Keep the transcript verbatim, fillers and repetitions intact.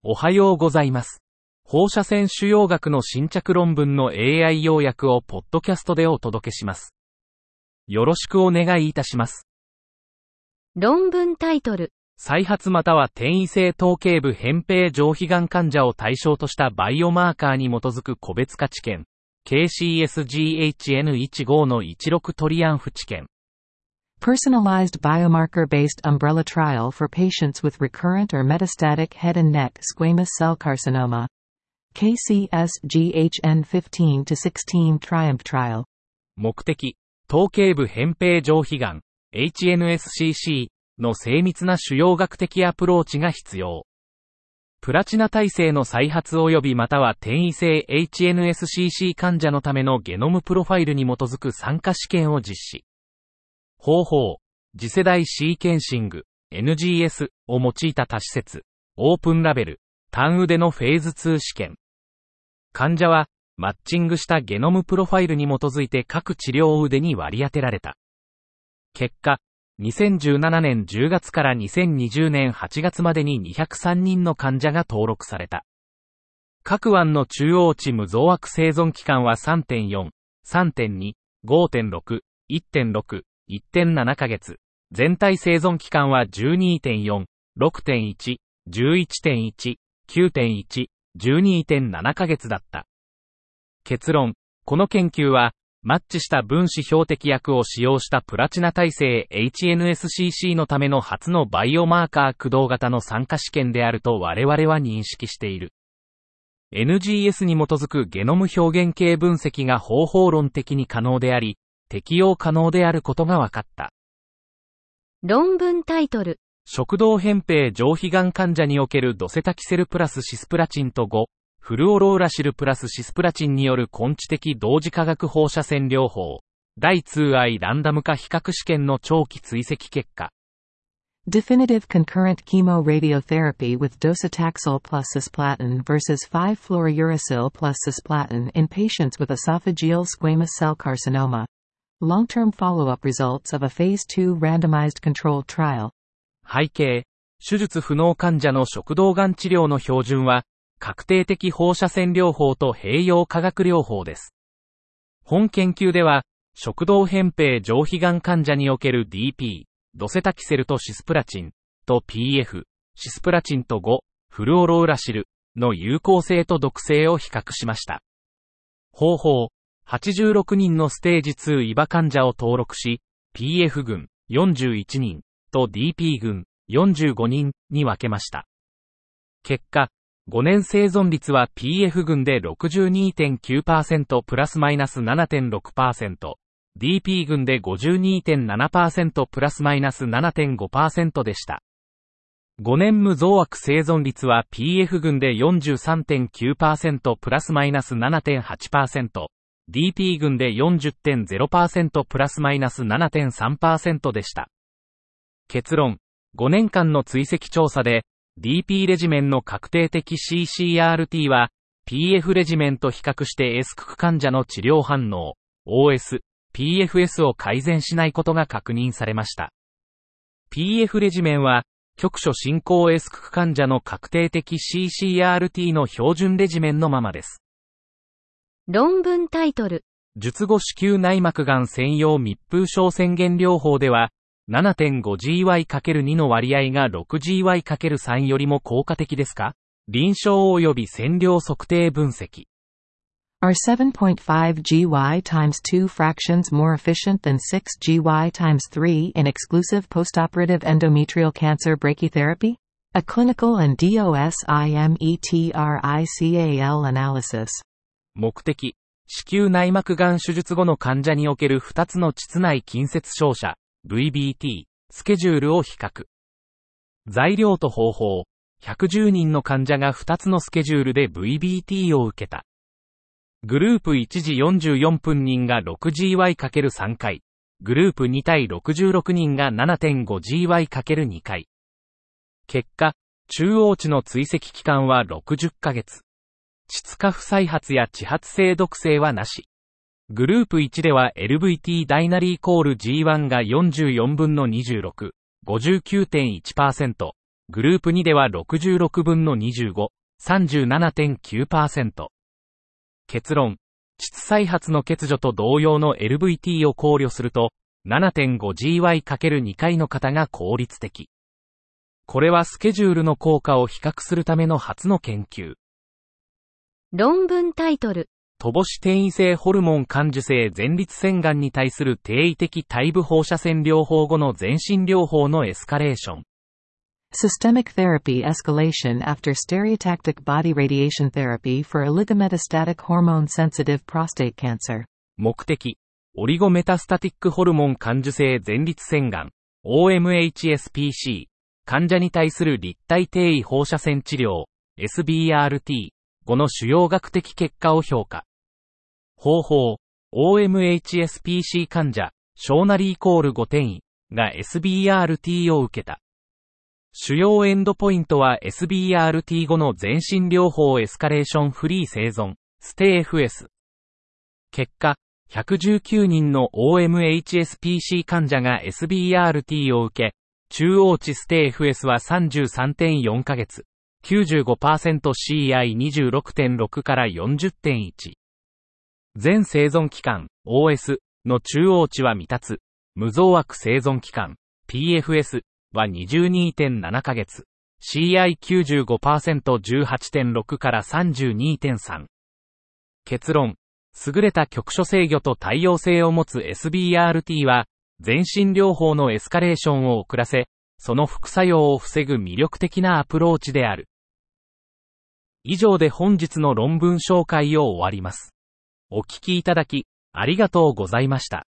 おはようございます。放射線腫瘍学の新着論文の エーアイ 要約をポッドキャストでお届けします。よろしくお願いいたします。 論文タイトル。 再発または転移性頭頸部扁平上皮がん患者を対象としたバイオマーカーに基づく個別化治験、ケーシーエスジーエイチエヌじゅうご のじゅうろくトリアンフ治験。 Personalized biomarker-based umbrella trial for patients with recurrent or metastatic head and neck squamous cell carcinoma.ケーシーエスジーエイチエヌじゅうごとじゅうろく Triumph Trial。 目的、頭頸部扁平上皮がん、エイチエヌエスシーシー の精密な腫瘍学的アプローチが必要。プラチナ耐性の再発及びまたは転移性 エイチエヌエスシーシー 患者のためのゲノムプロファイルに基づく参加試験を実施。方法、次世代シーケンシング、エヌジーエス を用いた多施設、オープンラベル、単腕のフェーズツー試験。患者は、マッチングしたゲノムプロファイルに基づいて各治療腕に割り当てられた。結果、にせんじゅうななねんじゅうがつからにせんにじゅうねんはちがつまでににひゃくさんにんの患者が登録された。各案の中央値無増悪生存期間は さんてんよん、さんてんに、ごてんろく、いってんろく、いってんなな ヶ月。全体生存期間は じゅうにてんよん、ろくてんいち、じゅういちてんいち、きゅうてんいち、じゅうにてんなな ヶ月だった。結論、この研究は、マッチした分子標的薬を使用したプラチナ耐性 エイチエヌエスシーシー のための初のバイオマーカー駆動型の参加試験であると我々は認識している。エヌジーエス に基づくゲノム表現系分析が方法論的に可能であり、適用可能であることが分かった。 論文タイトル。 食道扁平上皮がん患者におけるドセタキセルプラスシスプラチンとご、フルオローラシルプラスシスプラチンによる根治的同時化学放射線療法、だいにアイランダム化比較試験の長期追跡結果。 Definitive concurrent chemoradiotherapy with docetaxel plus cisplatin versus five fluorouracil plus cisplatin in patients with esophageal squamous cell carcinoma.Long-term follow-up results of a phase two randomized controlled trial. 背景、手術不能患者の食道がん治療の標準は、確定的放射線療法と併用化学療法です。本研究では、食道扁平上皮がん患者における ディーピー、ドセタキセルとシスプラチン、と ピーエフ、シスプラチンとご、フルオロウラシルの有効性と毒性を比較しました。方法、はちじゅうろくにんのステージツーイバ患者を登録し、ピーエフ 群よんじゅういちにんと ディーピー 群よんじゅうごにんに分けました。結果、ごねん生存率は ピーエフ 群で ろくじゅうにてんきゅうパーセント プラスマイナス ななてんろくパーセント、ディーピー 群で ごじゅうにてんななパーセント プラスマイナス ななてんごパーセント でした。ごねん無増悪生存率は ピーエフ 群で よんじゅうさんてんきゅうパーセント プラスマイナス ななてんはちパーセント、ディーピー 群で よんじゅってんゼロパーセント プラスマイナス ななてんさんパーセント でした。結論、ごねんかんの追跡調査で、ディーピー レジメンの確定的 シーシーアールティー は、ピーエフ レジメンと比較して S 区患者の治療反応、オーエス、ピーエフエス を改善しないことが確認されました。ピーエフ レジメンは、局所進行 S 区患者の確定的 シーシーアールティー の標準レジメンのままです。 論文タイトル。 術後子宮内膜がん専用密封症宣言療法では、ななてんごジーワイかけるに の割合が ろくジーワイかけるさん よりも効果的ですか？臨床及び線量測定分析。 Are seven point five G Y times two fractions more efficient than six G Y times three in exclusive postoperative endometrial cancer brachytherapy? A clinical and dosimetrical analysis. 目的、子宮内膜がん手術後の患者におけるふたつの膣内近接照射、ブイビーティー、スケジュールを比較。材料と方法、ひゃくじゅうにんの患者がふたつのスケジュールで ブイビーティー を受けた。グループいち時よんじゅうよんぷん人が ろくジーワイかけるさん 回、グループに対ろくじゅうろくにんが ななてんごジーワイかけるに 回。結果、中央値の追跡期間はろくじゅっかげつ。膣下不再発や遅発性毒性はなし。グループいちでは エルブイティー ダイナリーイコール ジーワン がよんじゅうよんぶんのにじゅうろく、ごじゅうきゅうてんいちパーセント、 グループにではろくじゅうろくぶんのにじゅうご、さんじゅうななてんきゅうパーセント。結論、膣再発の欠如と同様の エルブイティー を考慮すると、ななてんごジーワイかけるに 回の方が効率的。これはスケジュールの効果を比較するための初の研究。 論文タイトル。 乏し転移性ホルモン感受性前立腺がんに対する定位的体部放射線療法後の全身療法のエスカレーション。 Systemic therapy escalation after stereotactic body radiation therapy for oligometastatic hormone-sensitive prostate cancer. 目的、オリゴメタスタティックホルモン感受性前立腺がん、オーエムエイチエスピーシー、患者に対する立体定位放射線治療、エスビーアールティー、後の主要学的結果を評価。方法、オーエムエイチエスピーシー 患者、小なりイコールご転移が エスビーアールティー を受けた。主要エンドポイントは エスビーアールティー 後の全身療法エスカレーションフリー生存、ステイ エフエス。結果、ひゃくじゅうきゅうにんの オーエムエイチエスピーシー 患者が エスビーアールティー を受け、中央値ステイ エフエスは さんじゅうさんてんよん ヶ月、きゅうじゅうごパーセントシーアイにじゅうろくてんろく から よんじゅってんいち。全生存期間、オーエス の中央値は未達、無増悪生存期間、ピーエフエス は にじゅうにてんなな ヶ月、シーアイきゅうじゅうごパーセントじゅうはちてんろく から さんじゅうにてんさん。結論、優れた局所制御と対応性を持つ エスビーアールティー は、全身療法のエスカレーションを遅らせ、その副作用を防ぐ魅力的なアプローチである。以上で本日の論文紹介を終わります。お聞きいただき、ありがとうございました。